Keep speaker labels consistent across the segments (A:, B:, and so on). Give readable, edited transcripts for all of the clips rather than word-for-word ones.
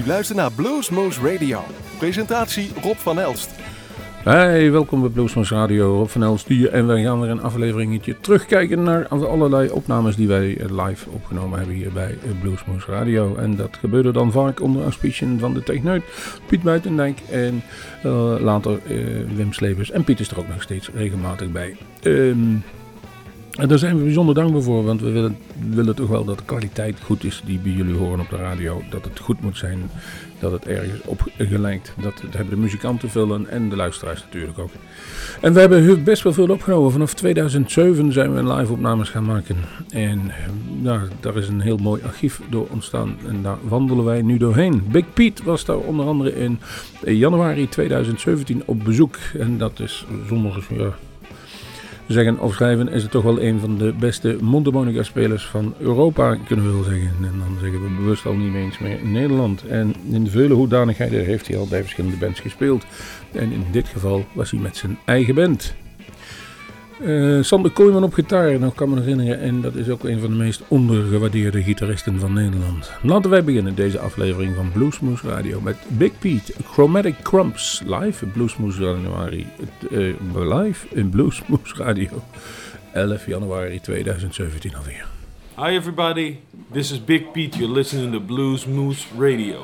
A: luistert naar Bluesmoose Radio. Presentatie Rob van Elst.
B: Hey, welkom bij Bluesmoose Radio. Rob van Elst hier. En wij gaan weer een afleveringetje terugkijken naar allerlei opnames die wij live opgenomen hebben hier bij Bluesmoose Radio. En dat gebeurde dan vaak onder auspiciën van de techneut Piet Buitendijk en later Wim Slevers. En Piet is er ook nog steeds regelmatig bij. En daar zijn we bijzonder dankbaar voor, want we willen toch wel dat de kwaliteit goed is die bij jullie horen op de radio. Dat het goed moet zijn, dat het ergens op gelijkt. Dat hebben de muzikanten vullen en de luisteraars natuurlijk ook. En we hebben best wel veel opgenomen. Vanaf 2007 zijn we live opnames gaan maken. En daar is een heel mooi archief door ontstaan en daar wandelen wij nu doorheen. Big Pete was daar onder andere in januari 2017 op bezoek. En dat is zonder zeggen of schrijven is het toch wel een van de beste mondharmonica spelers van Europa, kunnen we wel zeggen. En dan zeggen we bewust al niet eens meer in Nederland. En in vele hoedanigheden heeft hij al bij verschillende bands gespeeld. En in dit geval was hij met zijn eigen band. Sander Kooijman op gitaar, nog kan me herinneren. En dat is ook een van de meest ondergewaardeerde gitaristen van Nederland. Laten wij beginnen deze aflevering van Bluesmoose Radio met Big Pete, Chromatic Crumbs, live Bluesmoose Januari, live in Bluesmoose Radio, 11 januari 2017 alweer.
C: Hi everybody, this is Big Pete, you're listening to Bluesmoose Radio.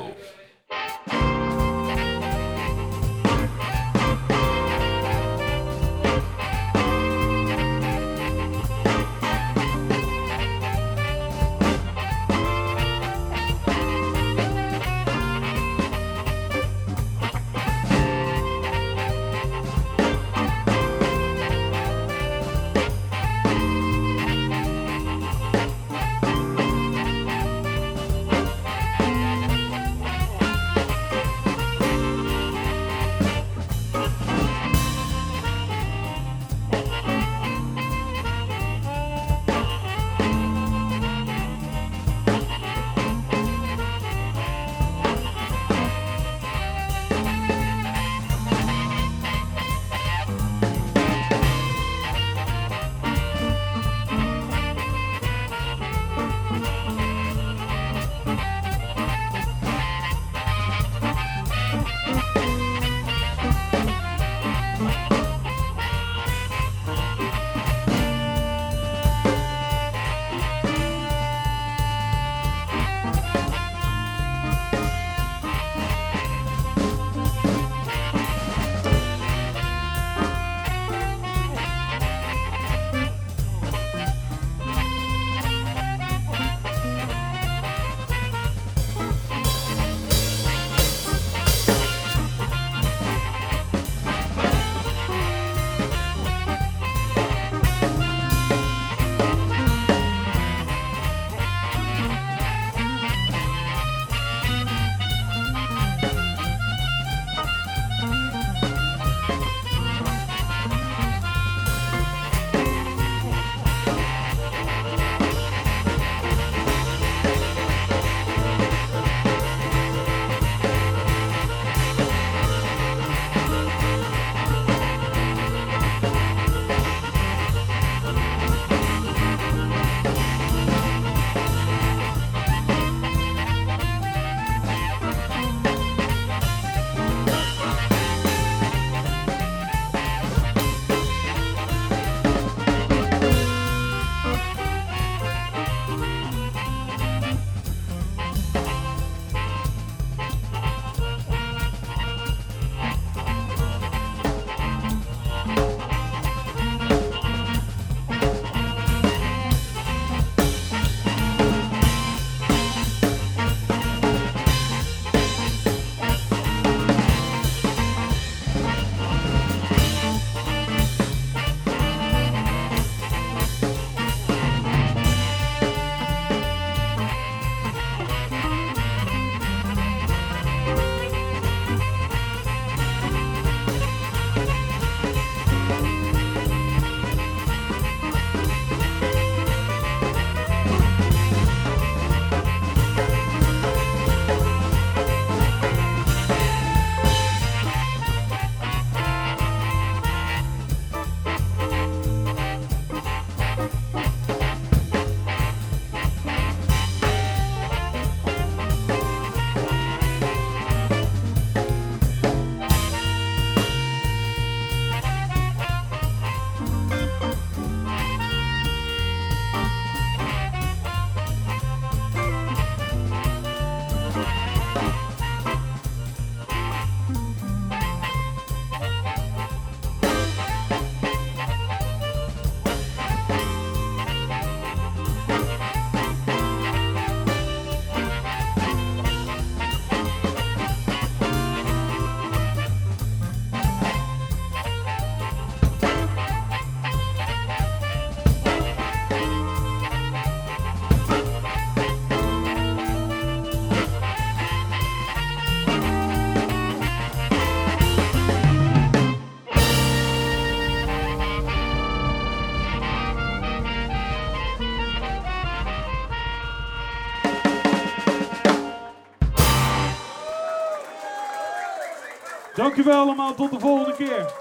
D: Dankjewel allemaal, tot de volgende keer.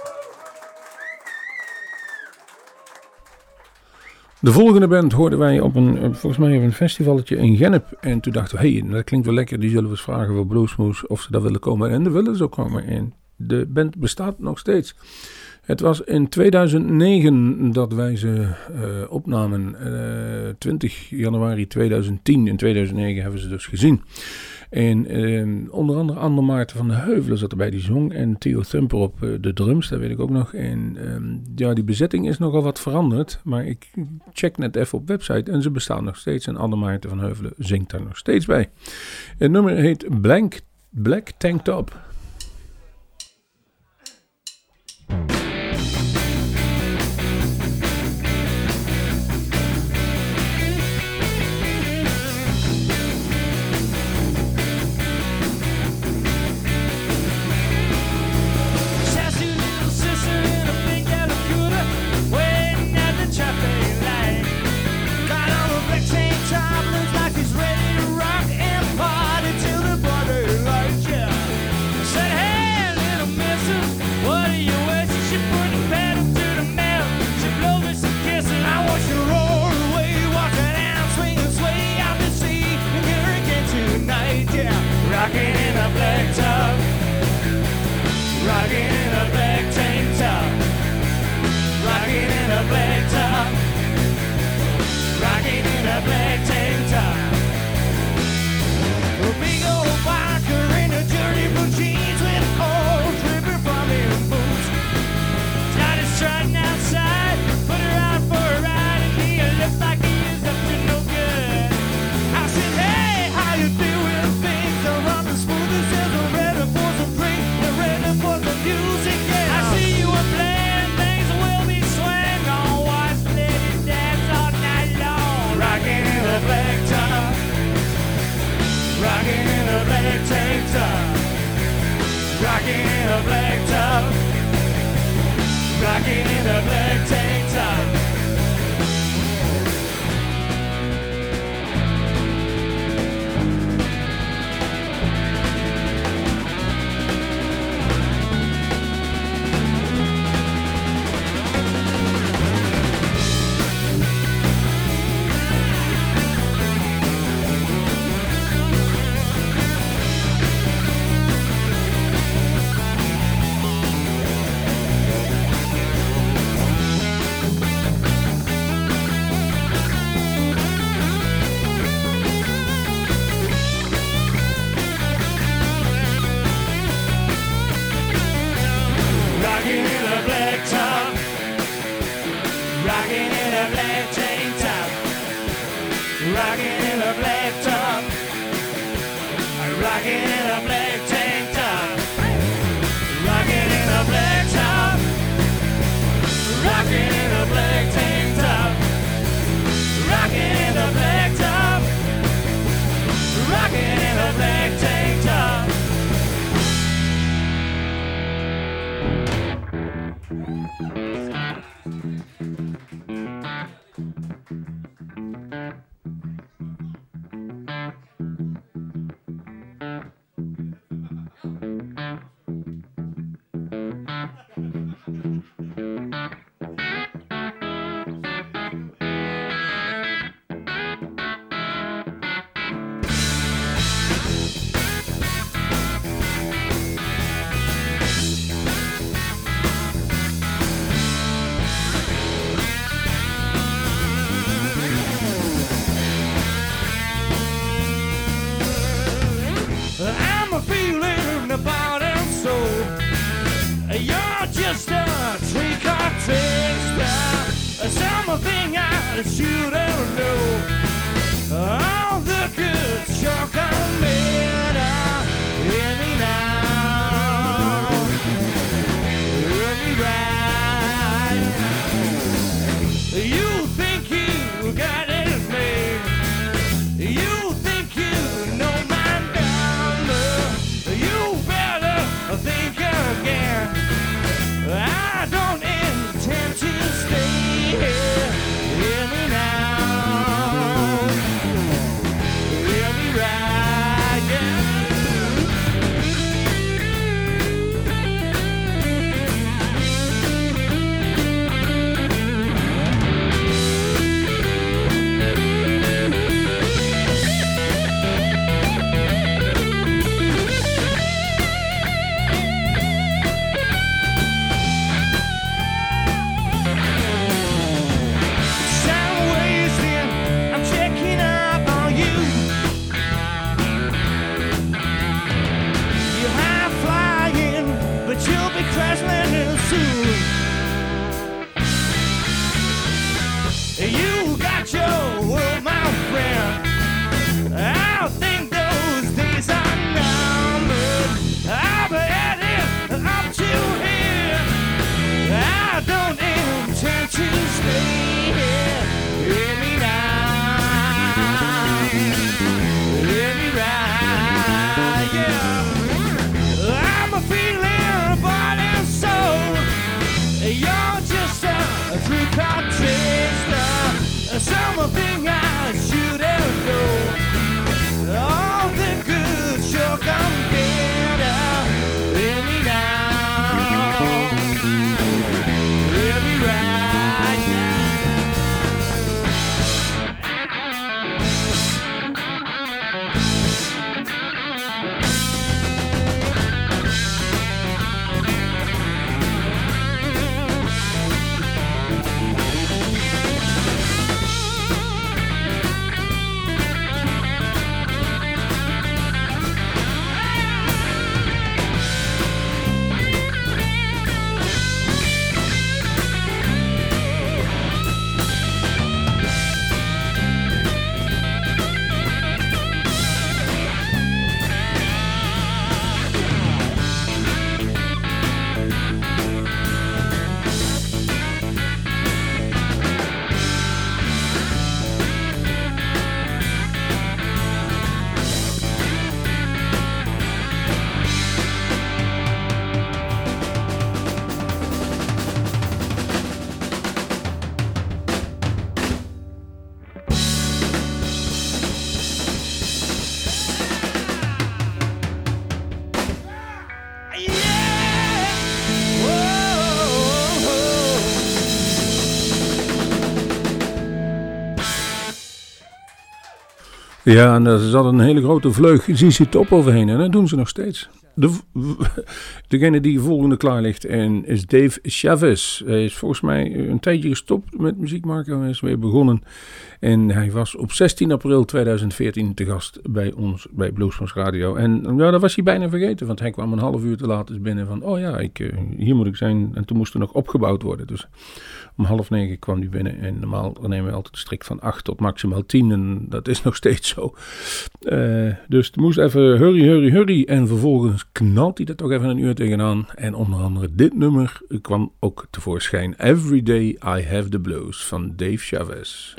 B: De volgende band hoorden wij volgens mij op een festivalletje in Gennep. En toen dachten we, hey, dat klinkt wel lekker. Die zullen we eens vragen voor Bluesmoose of ze daar willen komen. En daar willen ze ook komen. En de band bestaat nog steeds. Het was in 2009 dat wij ze opnamen. 20 januari 2010. In 2009 hebben ze dus gezien. En onder andere Ander Maarten van de Heuvelen zat erbij, die zong. En Theo Thumper op de drums, dat weet ik ook nog. En die bezetting is nogal wat veranderd. Maar ik check net even op website en ze bestaan nog steeds. En Ander Maarten van Heuvelen zingt daar nog steeds bij. Het nummer heet Black Tank Top.
E: I don't intend to stay here. Hear me now.
B: Ja, en daar zat een hele grote vleug ZZ Top overheen. En dat doen ze nog steeds. Degene die volgende klaar ligt is Dave Chavez. Hij is volgens mij een tijdje gestopt met muziek maken. Hij is weer begonnen. En hij was op 16 april 2014 te gast bij ons bij Bluesmoose Radio. En ja, dat was hij bijna vergeten. Want hij kwam een half uur te laat binnen van... Oh ja, hier moet ik zijn. En toen moest er nog opgebouwd worden. Dus om 8:30 kwam hij binnen. En normaal nemen we altijd strikt van 8 tot maximaal 10. En dat is nog steeds zo. Dus het moest even hurry. En vervolgens knalt hij er toch even een uur tegenaan. En onder andere dit nummer kwam ook tevoorschijn. Every Day I Have the Blues van Dave Chavez.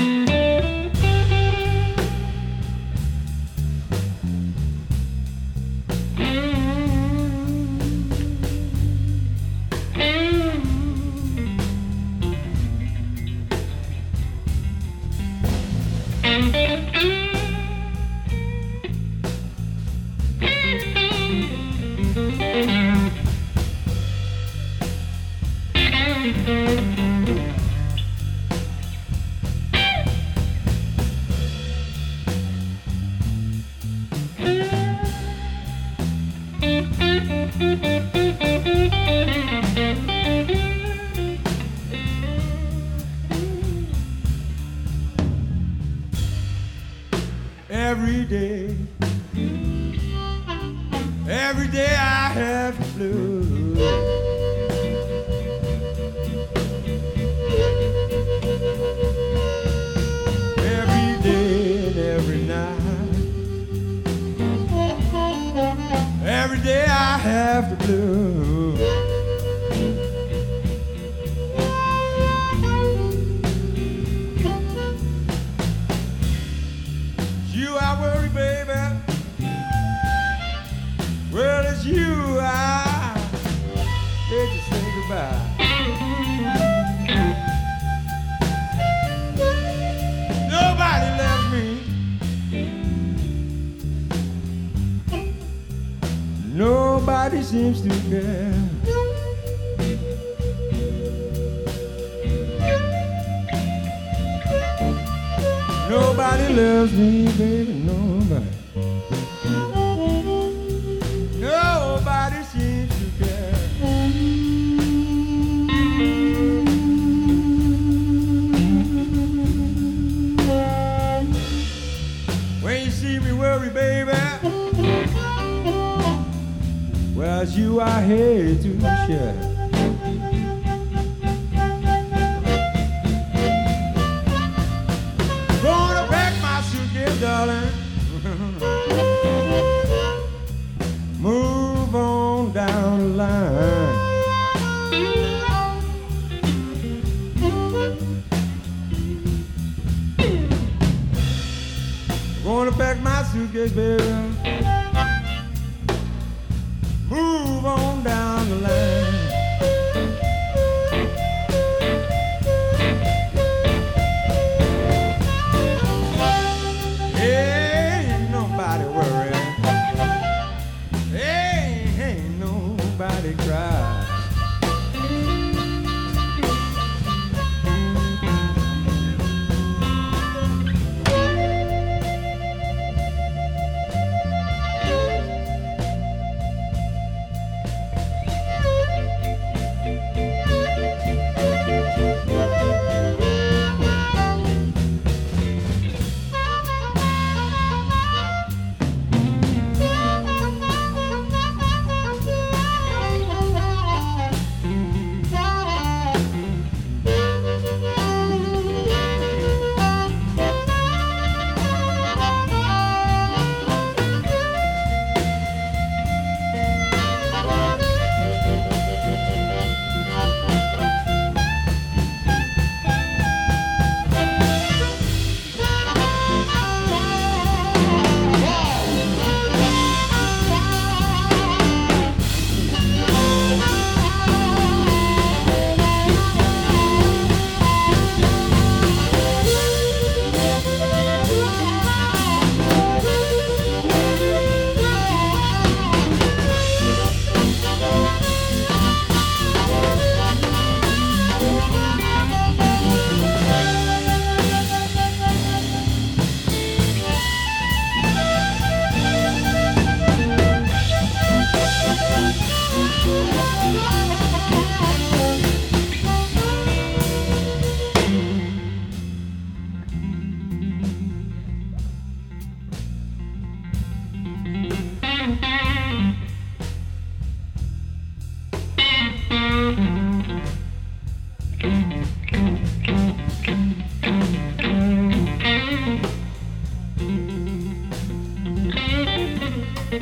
E: Every day I have the blues. Every day and every night. Every day I have the blues. You I worry, baby. Well, it's you I hate to say goodbye. Nobody left me. Nobody seems to care. Nobody loves me, baby, nobody. Nobody seems to care. When you see me worry, baby, well, it's you I hate to share. Gonna pack my suitcase, darling. Move on down the line. Gonna pack my suitcase, baby. Move on down the line. Ain't nobody worried. Ain't nobody cry.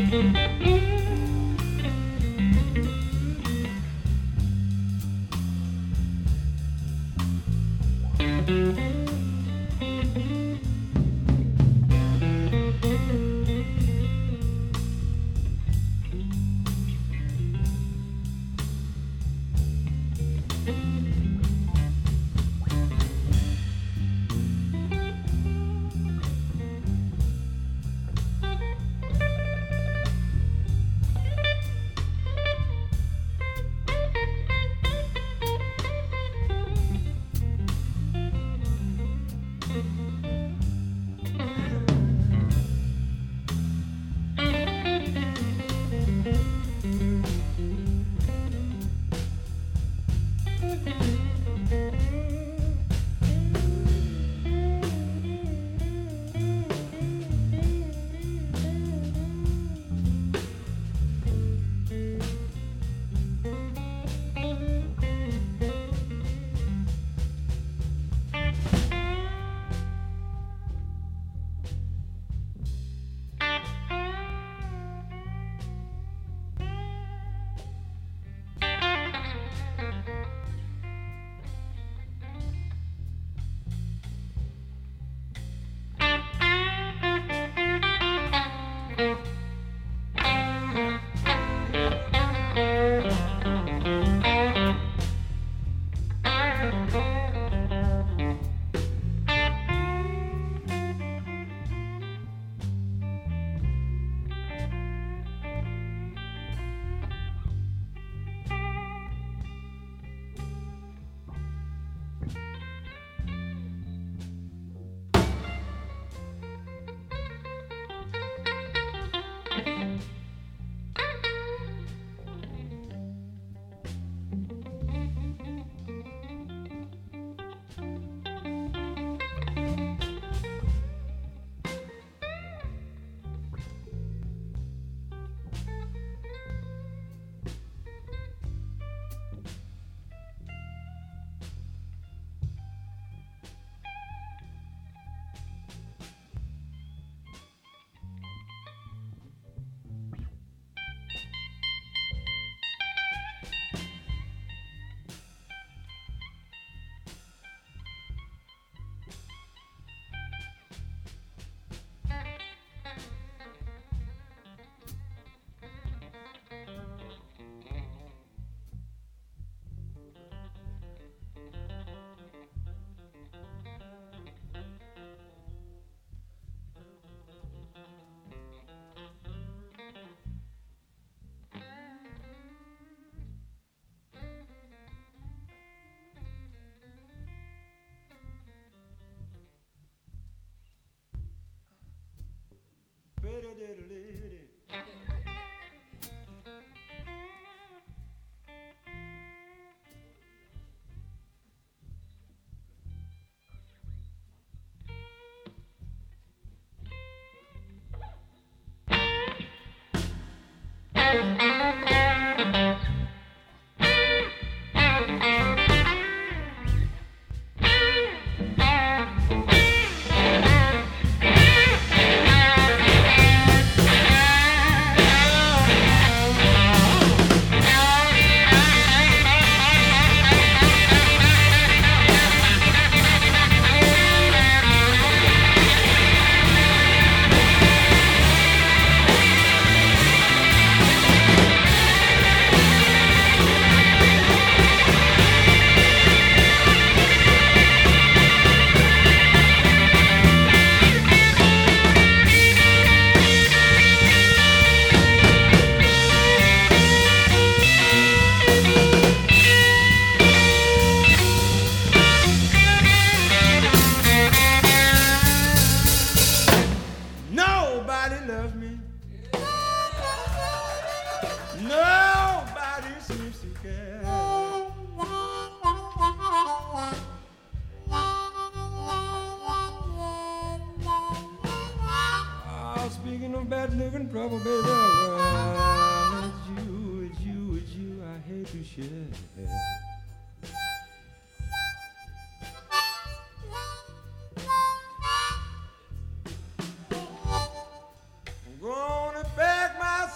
E: I'm gonna pack my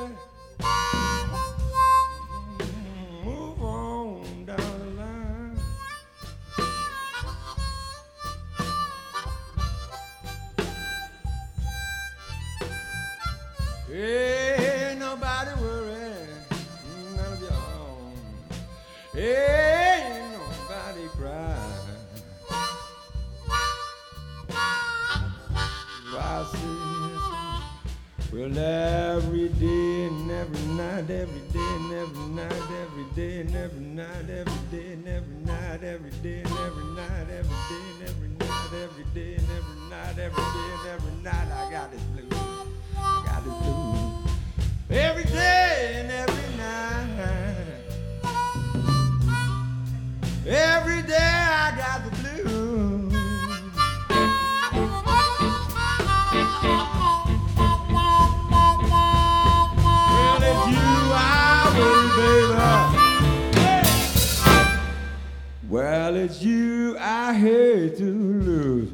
E: Move on down the line. Ain't nobody worry, none of y'all. Ain't nobody cry. I see, well, every day and every night, every day and every night, every day and every night, every day and every night, every day and every night, every day and every night, every day and every night, every day and every night, I got this blues. I got this blues. Every day and every night. Every day I got the blues. Well, it's you I will, baby. Well, it's you I hate to lose.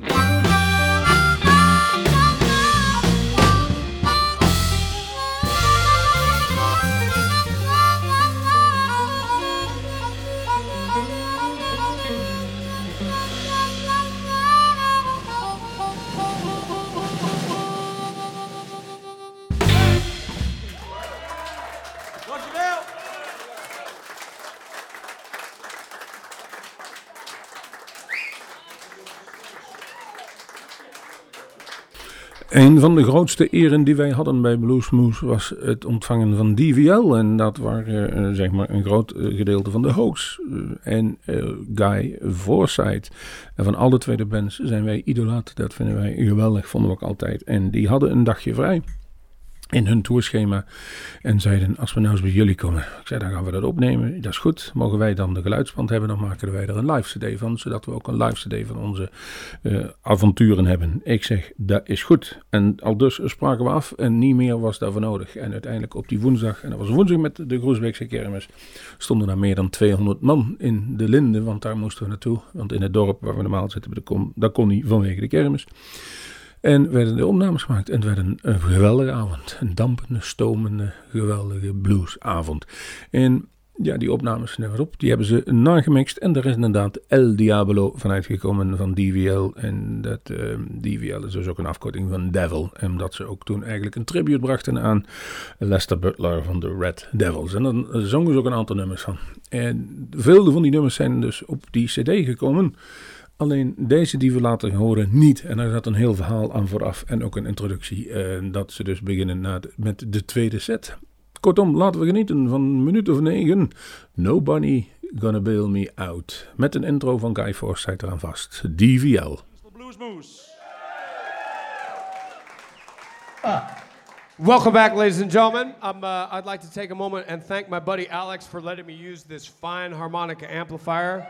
B: Een van de grootste eren die wij hadden bij Bluesmoose was het ontvangen van DVL. En dat waren zeg maar een groot gedeelte van de Hoax en Guy Forsyth. En van alle twee de bands zijn wij idolaat. Dat vinden wij geweldig, vonden we ook altijd. En die hadden een dagje vrij in hun tourschema en zeiden, als we nou eens bij jullie komen. Ik zei, dan gaan we dat opnemen, dat is goed. Mogen wij dan de geluidsband hebben, dan maken wij er een live cd van, zodat we ook een live cd van onze avonturen hebben. Ik zeg, dat is goed. En al dus spraken we af en niet meer was daarvoor nodig. En uiteindelijk op die woensdag, en dat was woensdag met de Groesbeekse kermis, stonden daar meer dan 200 man in de Linde, want daar moesten we naartoe. Want in het dorp waar we normaal zitten, dat kon niet vanwege de kermis. En werden de opnames gemaakt. En het werd een geweldige avond. Een dampende, stomende, geweldige bluesavond. En ja, die opnames zijn er weer op. Die hebben ze nagemixt. En daar is inderdaad El Diablo van uitgekomen van DVL. En dat DVL is dus ook een afkorting van Devil. En dat ze ook toen eigenlijk een tribute brachten aan Lester Butler van de Red Devils. En dan zongen ze ook een aantal nummers van. En veel van die nummers zijn dus op die cd gekomen. Alleen deze die we laten horen niet. En daar zat een heel verhaal aan vooraf. En ook een introductie. Dat ze dus beginnen met de tweede set. Kortom, laten we genieten van een minuut of 9. Nobody Gonna Bail Me Out. Met een intro van Guy Forsyth eraan vast. DVL.
D: Bluesmoose.
F: Welcome back, ladies and gentlemen. I'd like to take a moment and thank my buddy Alex for letting me use this fine harmonica amplifier.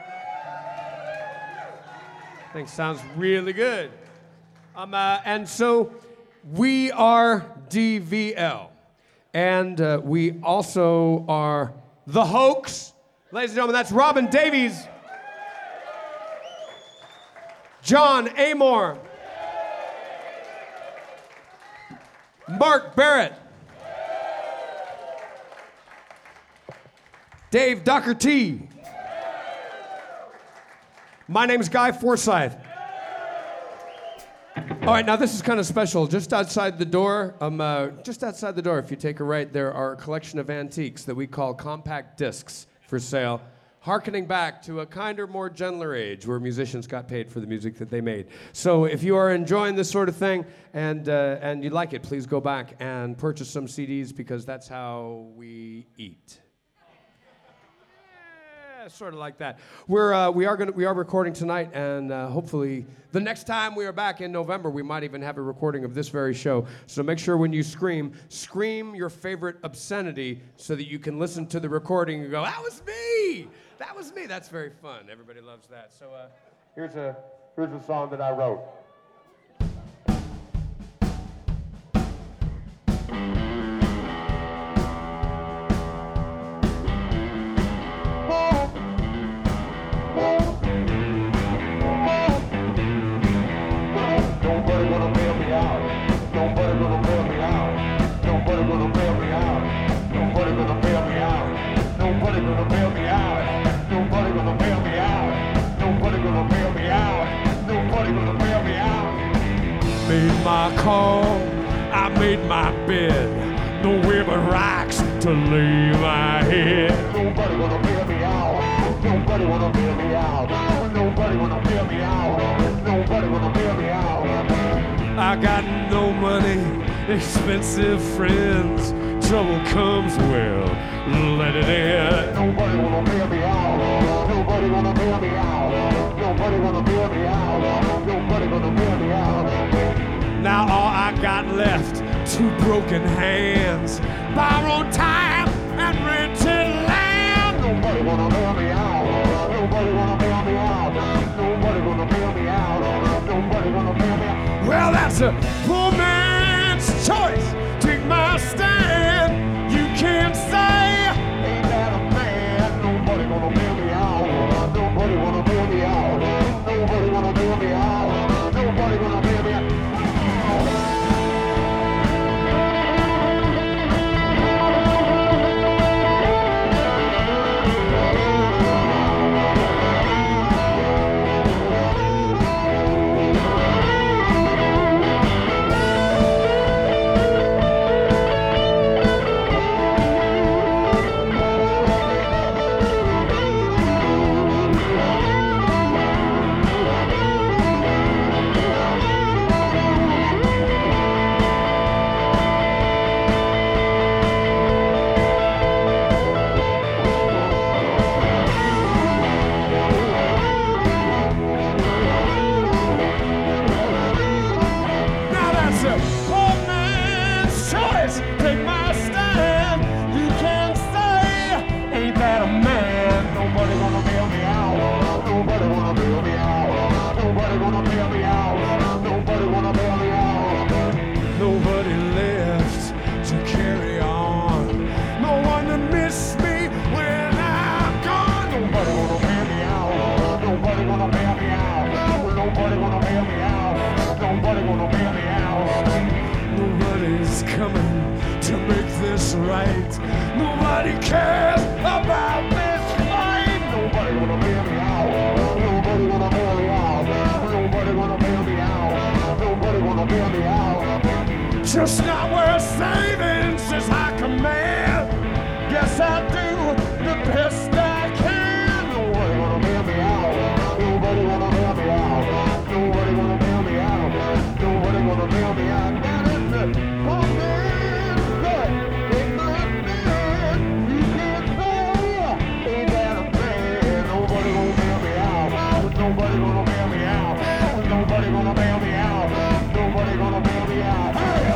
F: I think it sounds really good. And so we are DVL. And we also are The Hoax. Ladies and gentlemen, that's Robin Davies, John Amor, Mark Barrett, Dave Doherty. My name is Guy Forsyth. All right, now this is kind of special. Just outside the door, if you take a right, there are a collection of antiques that we call compact discs for sale, hearkening back to a kinder, more gentler age where musicians got paid for the music that they made. So if you are enjoying this sort of thing and you like it, please go back and purchase some CDs because that's how we eat. Sort of like that. We are recording tonight, and hopefully the next time we are back in November, we might even have a recording of this very show. So make sure when you scream your favorite obscenity so that you can listen to the recording and go, "That was me! That was me!" That's very fun. Everybody loves that. So here's a song that I wrote. Nobody gonna bail me out.
E: calm. I made my bed, nowhere but rocks to lay my head. Nobody wanna bail me out. Nobody wanna bail me out. Nobody wanna bail me out. Nobody wanna bail me out. I got no money, expensive friends. Trouble comes, well, let it in. Nobody wanna bail me out. Nobody wanna bail me out. Nobody wanna bail me out. Nobody wanna bail me out. Now all I got left, 2 broken hands, borrowed time and rented land. Nobody wanna bail me out. Nobody wanna bail me out. Nobody wanna bail me out. Nobody wanna bail me out. Well, that's a poor man's choice. Take my stand. You can't say, ain't that a man? Nobody wanna bail me out. Nobody wanna bail me out. Nobody wanna bail me out. Nobody wanna bail me out. Right. Nobody cares about this fight. Nobody wanna bail me out. Nobody wanna bail me out. Nobody wanna bail me out. Nobody wanna bail me out. Just not worth saving, says I command. Yes, I do the best I can. Nobody wanna bail me out. Nobody wanna bail me out. Nobody wanna bail me out. Nobody wanna bail me out. That is it. Oh, man. Nobody gonna bail me out. Nobody gonna bail me out. Nobody gonna bail me out.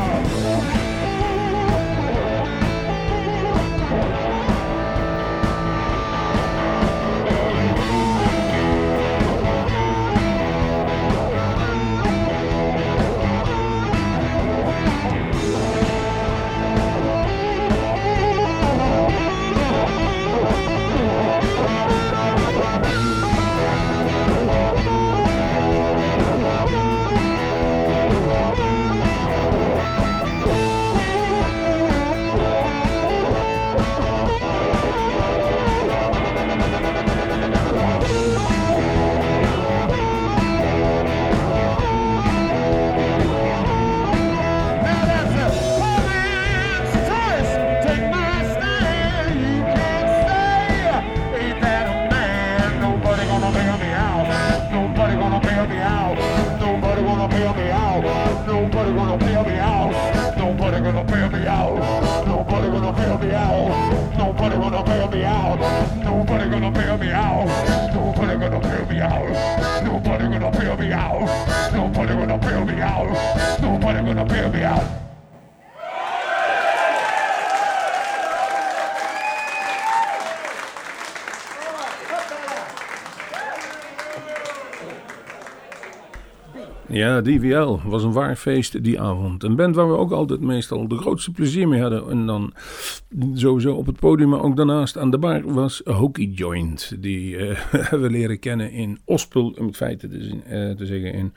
B: Ja, DVL was een waar feest die avond. Een band waar we ook altijd meestal de grootste plezier mee hadden. En dan sowieso op het podium, maar ook daarnaast aan de bar was Hokey Joint. Die hebben we leren kennen in Ospel, om het feit te zeggen, in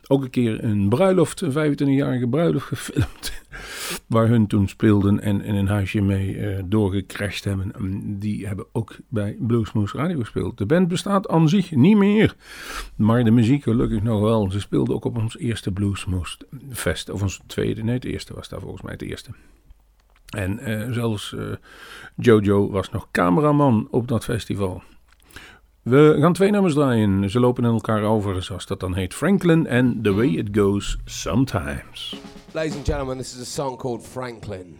B: ook een keer een bruiloft, een 25-jarige bruiloft gefilmd. Waar hun toen speelden en in een huisje mee doorgecrashed hebben. Die hebben ook bij Bluesmoose Radio gespeeld. De band bestaat aan zich niet meer. Maar de muziek gelukkig nog wel. Ze speelden ook op ons eerste Bluesmoose Fest. Of ons tweede, nee het eerste was daar volgens mij het eerste. En zelfs Jojo was nog cameraman op dat festival. We gaan 2 nummers draaien. Ze lopen in elkaar over, zoals dat dan heet. Franklin and The Way It Goes Sometimes.
E: Ladies and gentlemen, this is a song called Franklin.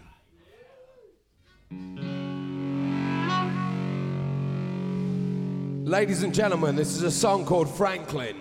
E: Ladies and gentlemen, this is a song called Franklin.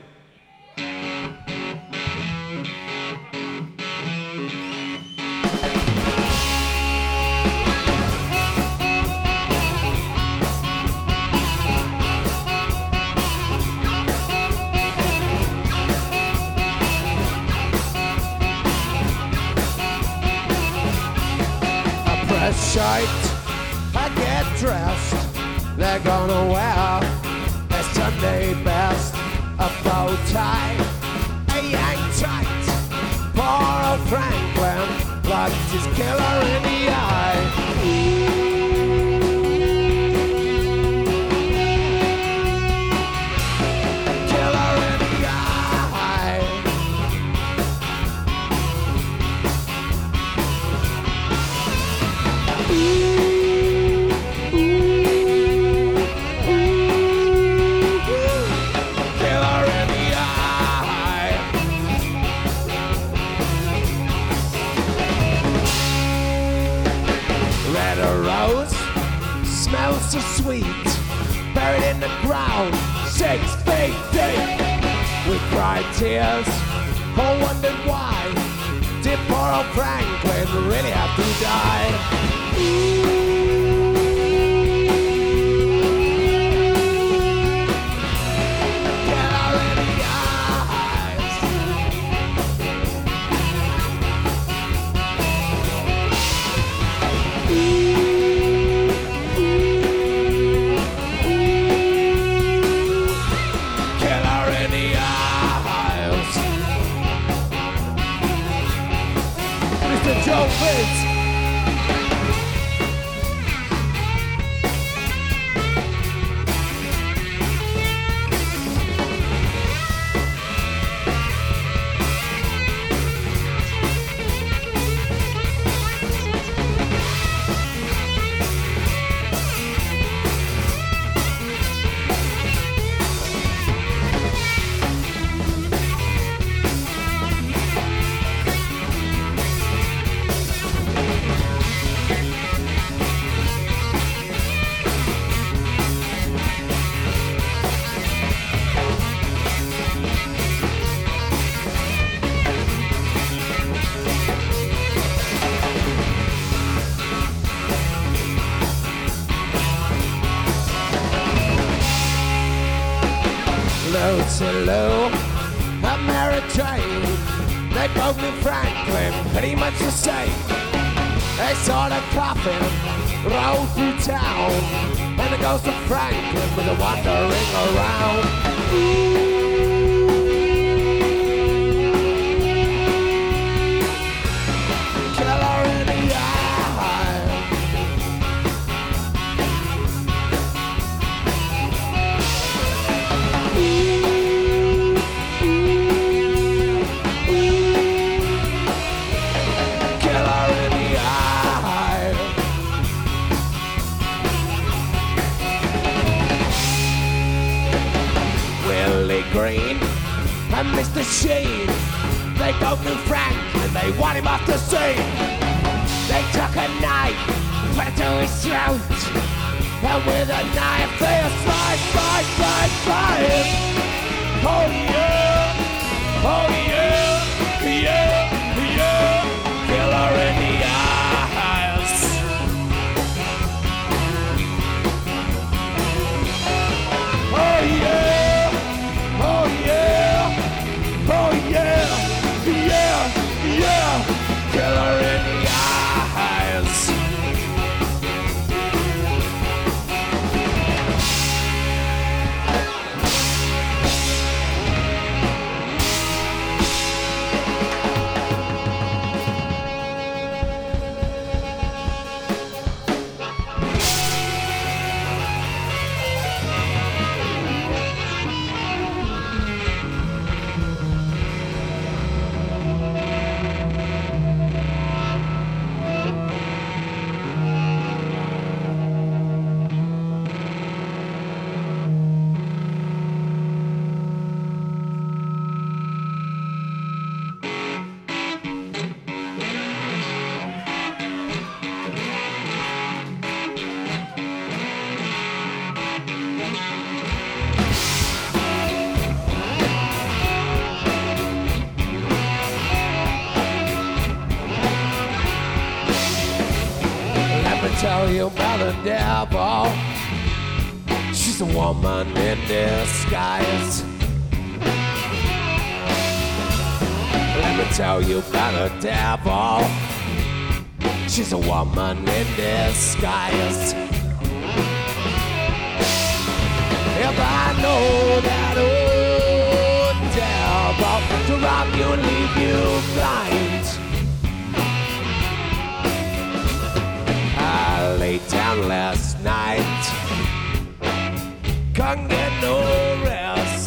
E: Shirt, I get dressed, they're gonna wear a Sunday best, a bow tie, a yank tight, poor old Franklin, looked his killer in the eye. Killer in the eye. Smells so sweet, buried in the ground, 6 feet deep. We cried tears, all wondered why did poor old Franklin really have to die? Joe Fitz. Hello, I'm Mary Jane. They both knew Franklin, pretty much the same. They saw the coffin roll through town, and the ghost of Franklin was wandering around. Killer in the eye. Green and Mr. Sheen, they both knew Franklin, they want him off the scene. They took a knife, put it to his throat, and with a knife they slice him. Oh yeah, oh yeah, yeah, yeah, killer in the eyes. Oh yeah. Oh yeah, oh yeah, yeah, yeah, killer in the eyes. tell you about the devil. She's a woman in disguise. Let me tell you about the devil. She's a woman in disguise. If I know that old devil to rob you and leave you blind, I laid down last night, couldn't get no rest.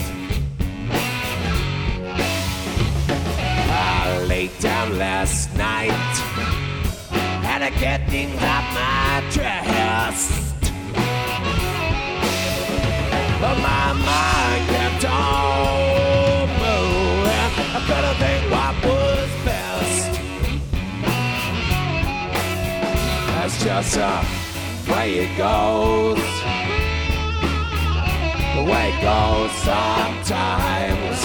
E: I laid down last night, had to get things off my chest. But my mind kept on moving. I couldn't think what was best. That's just the way it goes. The way it goes sometimes.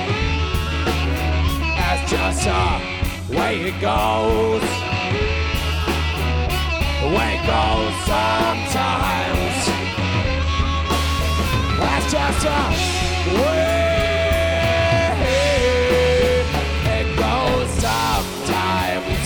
E: That's just the way it goes. The way it goes sometimes. That's just the way it goes sometimes.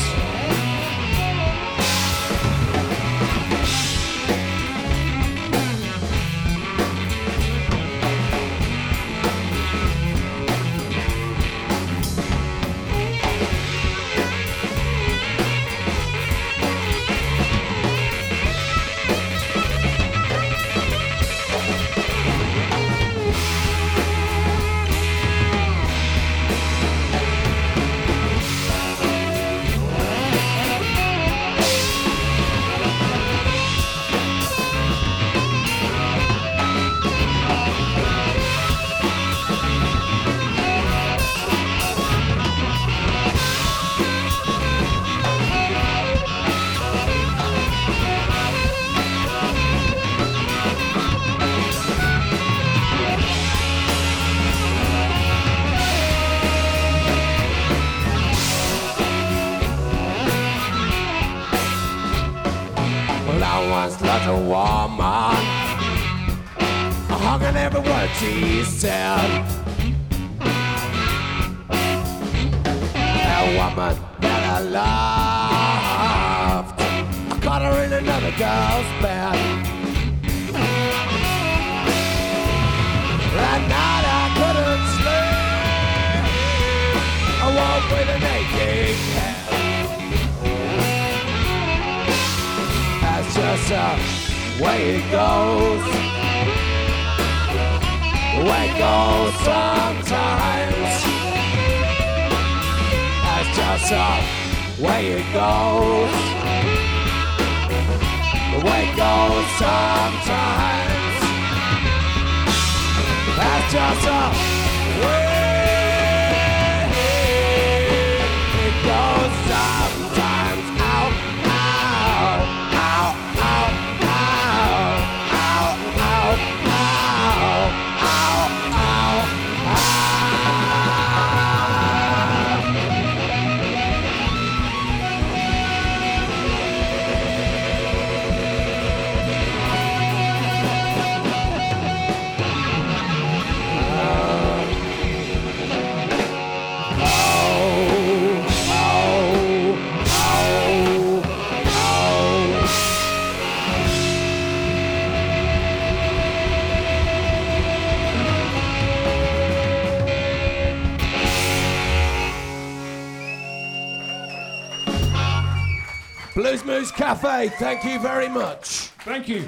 E: Like a woman, hugging every word she said. A woman that I loved, I caught her in another girl's bed. That night I couldn't sleep, I woke with an aching head. That's just the way it goes. The way it goes sometimes. That's just the way it goes. The way it goes sometimes. That's just the way it goes sometimes. Ow, ow. Blues Moose Café, thank you very much.
C: Thank you.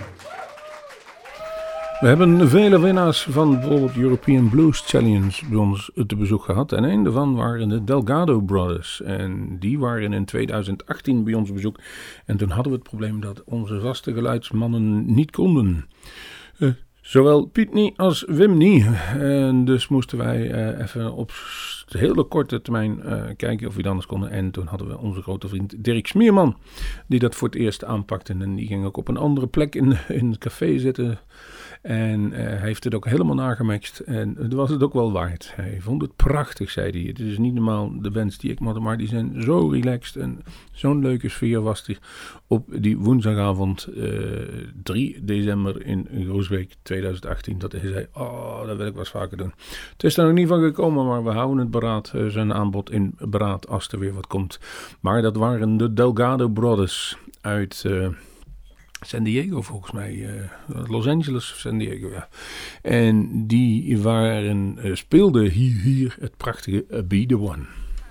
B: We hebben vele winnaars van bijvoorbeeld European Blues Challenge bij ons te bezoek gehad. En een daarvan waren de Delgado Brothers. En die waren in 2018 bij ons op bezoek. En toen hadden we het probleem dat onze vaste geluidsmannen niet konden. Zowel Piet niet als Wim niet. En dus moesten wij even hele korte termijn kijken of we het anders konden. En toen hadden we onze grote vriend Dirk Smierman, die dat voor het eerst aanpakte. En die ging ook op een andere plek in het café zitten. En hij heeft het ook helemaal nagemixt. En het was het ook wel waard. Hij vond het prachtig, zei hij. Het is niet normaal de bands die ik had, maar die zijn zo relaxed. En zo'n leuke sfeer was er op die woensdagavond 3 december in Groesbeek 2018. Dat hij zei, dat wil ik wel eens vaker doen. Het is er nog niet van gekomen, maar we houden het beraad. Zijn aanbod in beraad als er weer wat komt. Maar dat waren de Delgado Brothers uit San Diego volgens mij. Los Angeles of San Diego, ja. En die speelden hier het prachtige Be The One.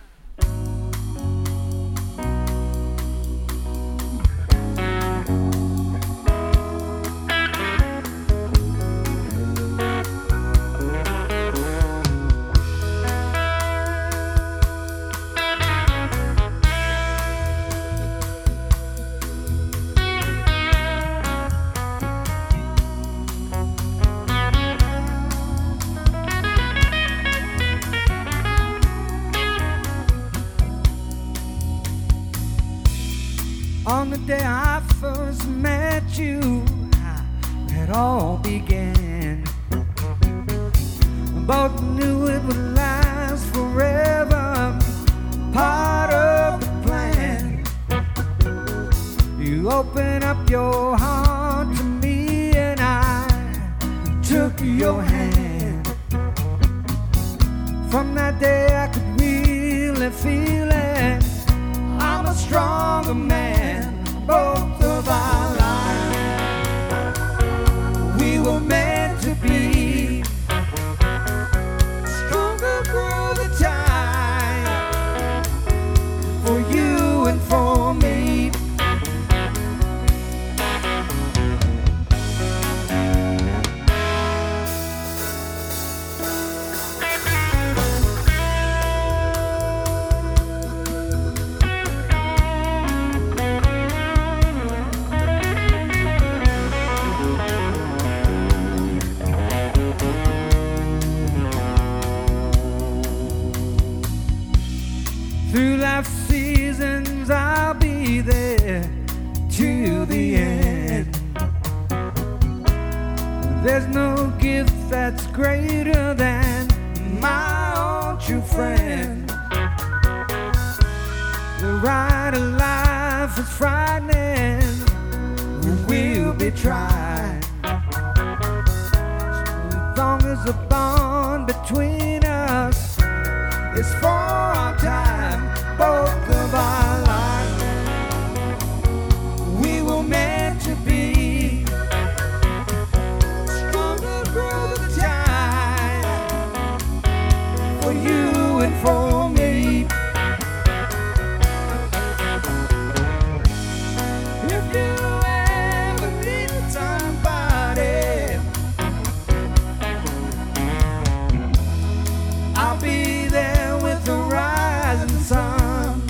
G: On the day I first met you, it all began. Both knew it would last forever, part of the plan. You opened up your heart to me and I took your hand. From that day I could really feel it, I'm a stronger man, both of our lives. We were meant to be stronger through the time, for you and for me. Through life's seasons, I'll be there to the end. There's no gift that's greater than my own true friend. The ride of life is frightening, we'll be tried. As long as the bond between us is for our time, both of our lives. We were meant to be stronger through the time, for you and for me. If you ever need somebody, I'll be there with the rising sun.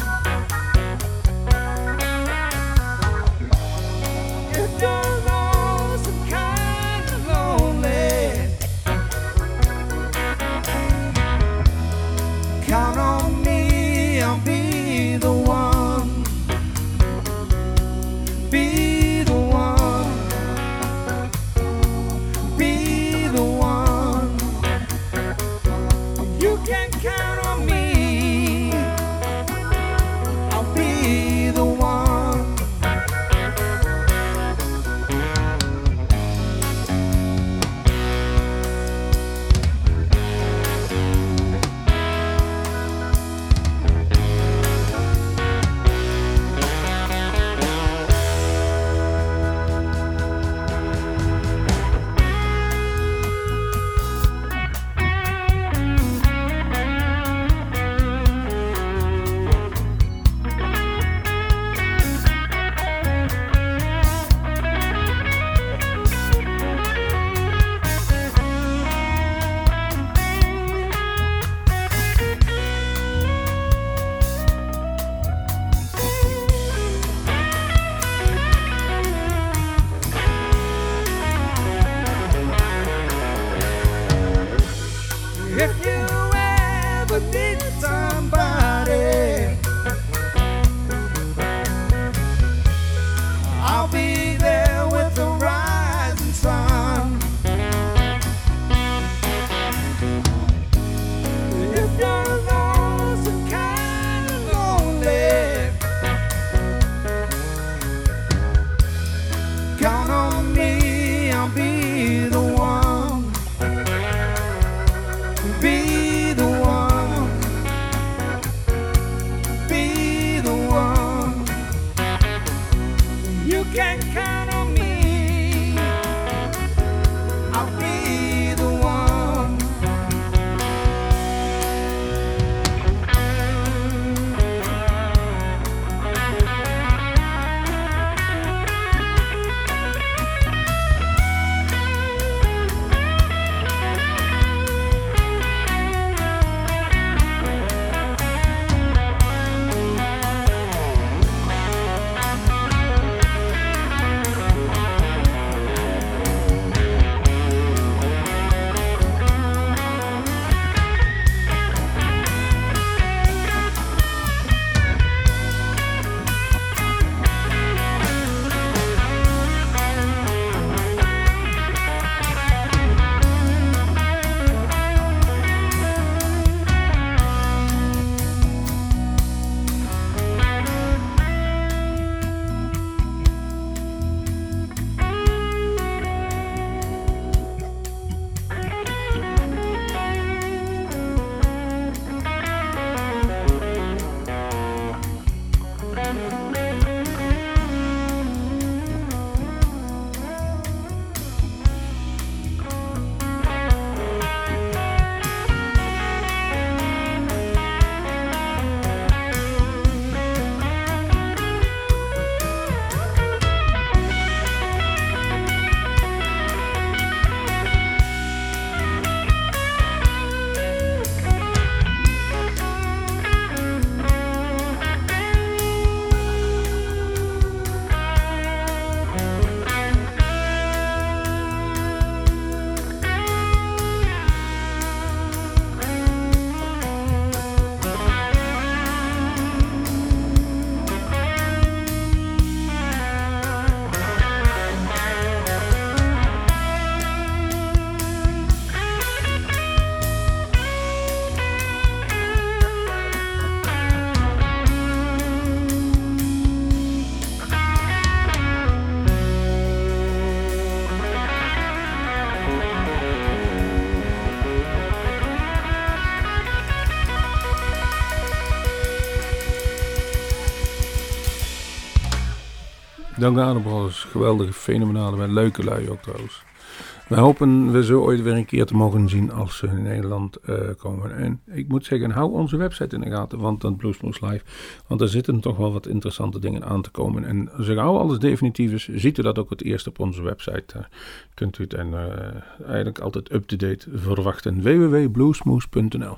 G: If you're lost and kind of lonely, count on me, I'll be the one. Be the one. Be the one. You can count on me, I'll be the one. you can count on me. I'll be the one.
B: Dank Adembrothers, geweldige, fenomenale, met leuke lui ook trouwens. We hopen we zo ooit weer een keer te mogen zien als ze in Nederland komen. En ik moet zeggen, hou onze website in de gaten, want dan Bluesmoose Live. Want er zitten toch wel wat interessante dingen aan te komen. En als gauw alles definitief is, ziet u dat ook het eerst op onze website. Kunt u het eigenlijk altijd up-to-date verwachten. www.bluesmoose.nl.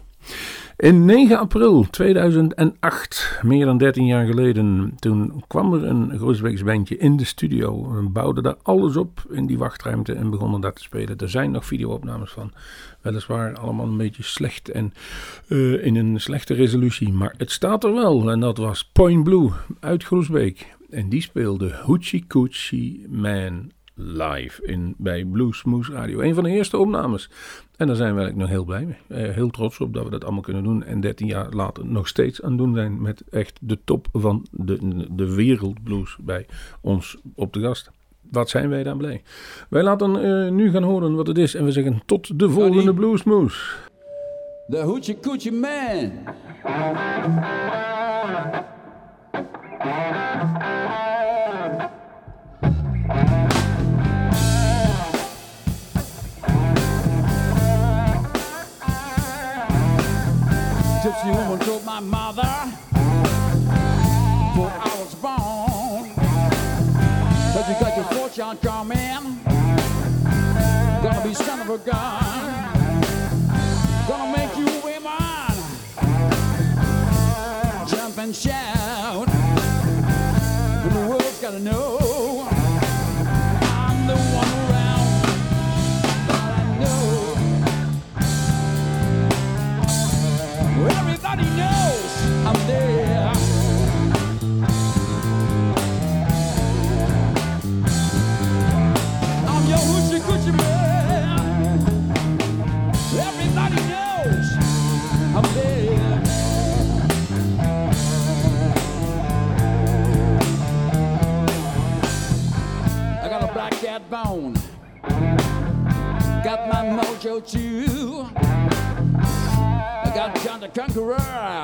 B: In 9 april 2008, meer dan 13 jaar geleden, toen kwam er een Groesbeeks bandje in de studio. We bouwden daar alles op in die wachtruimte en begonnen daar te spelen. Er zijn nog video-opnames van. Weliswaar allemaal een beetje slecht en in een slechte resolutie. Maar het staat er wel en dat was Point Blue uit Groesbeek. En die speelde Hoochie Coochie Man live bij Bluesmoose Radio. Een van de eerste opnames. En daar zijn we eigenlijk nog heel blij mee. Heel trots op dat we dat allemaal kunnen doen. En 13 jaar later nog steeds aan het doen zijn met echt de top van de wereldblues bij ons op de gast. Wat zijn wij dan blij. Wij laten nu gaan horen wat het is. En we zeggen tot de volgende Bluesmoose.
H: The Hoochie Coochie Man. Gypsy woman told my mother before I was born that you got your fortune coming, gonna be son of a gun, gonna make you women jump and shout, but the world's gotta know I'm the one around, all I know. Everybody knows I'm there. I'm your hoochie coochie man. Everybody knows I'm there. I got a black cat bone. Got my mojo too. Got John the Conqueror.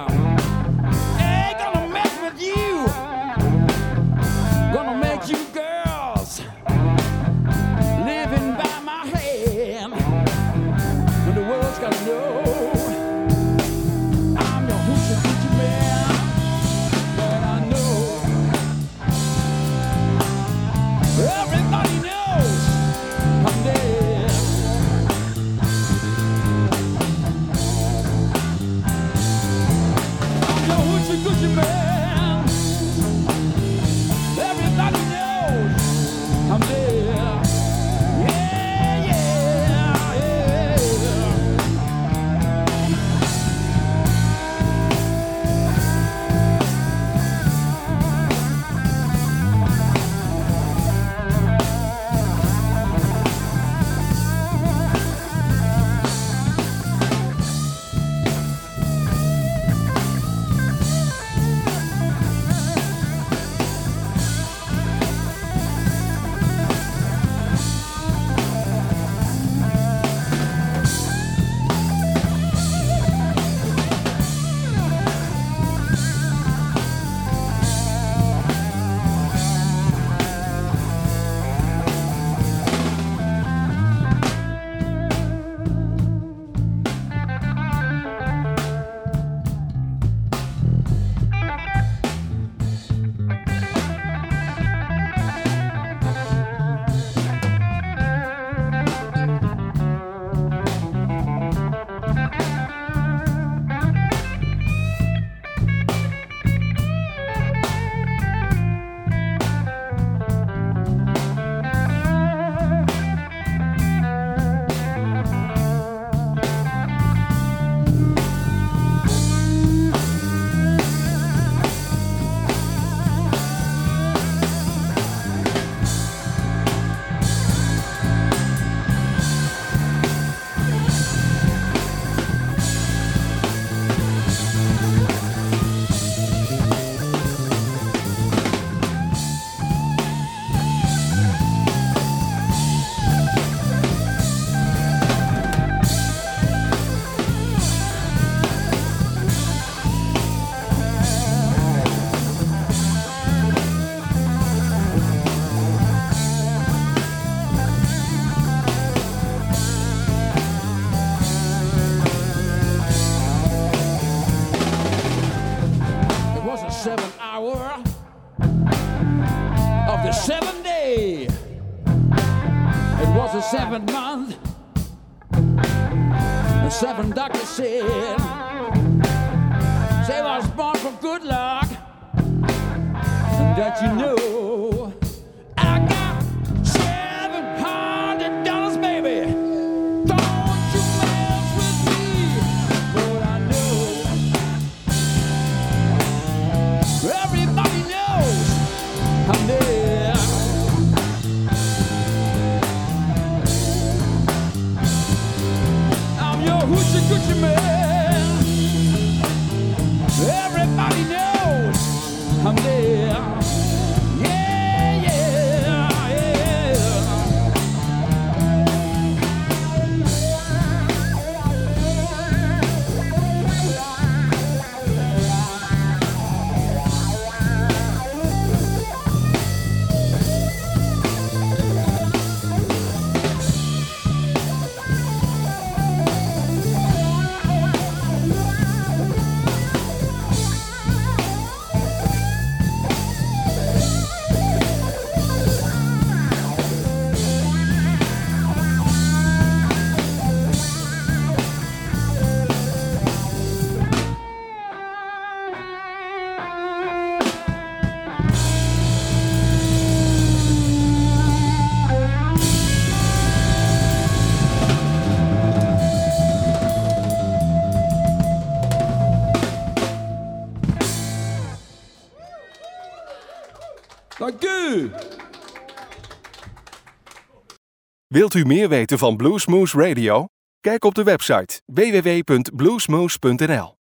H: Ain't gonna mess with you. Gonna make you girl the 7th day. It was the 7th month. The 7 doctors said, say I was born for good luck. And that you know, I got $700, baby. Don't you mess with me, but I know everybody knows I'm there. I'm your hoochie coochie man. Everybody knows I'm there. Yeah, yeah, yeah. Dank u.
A: Wilt u meer weten van Bluesmoose Radio? Kijk op de website www.bluesmoose.nl.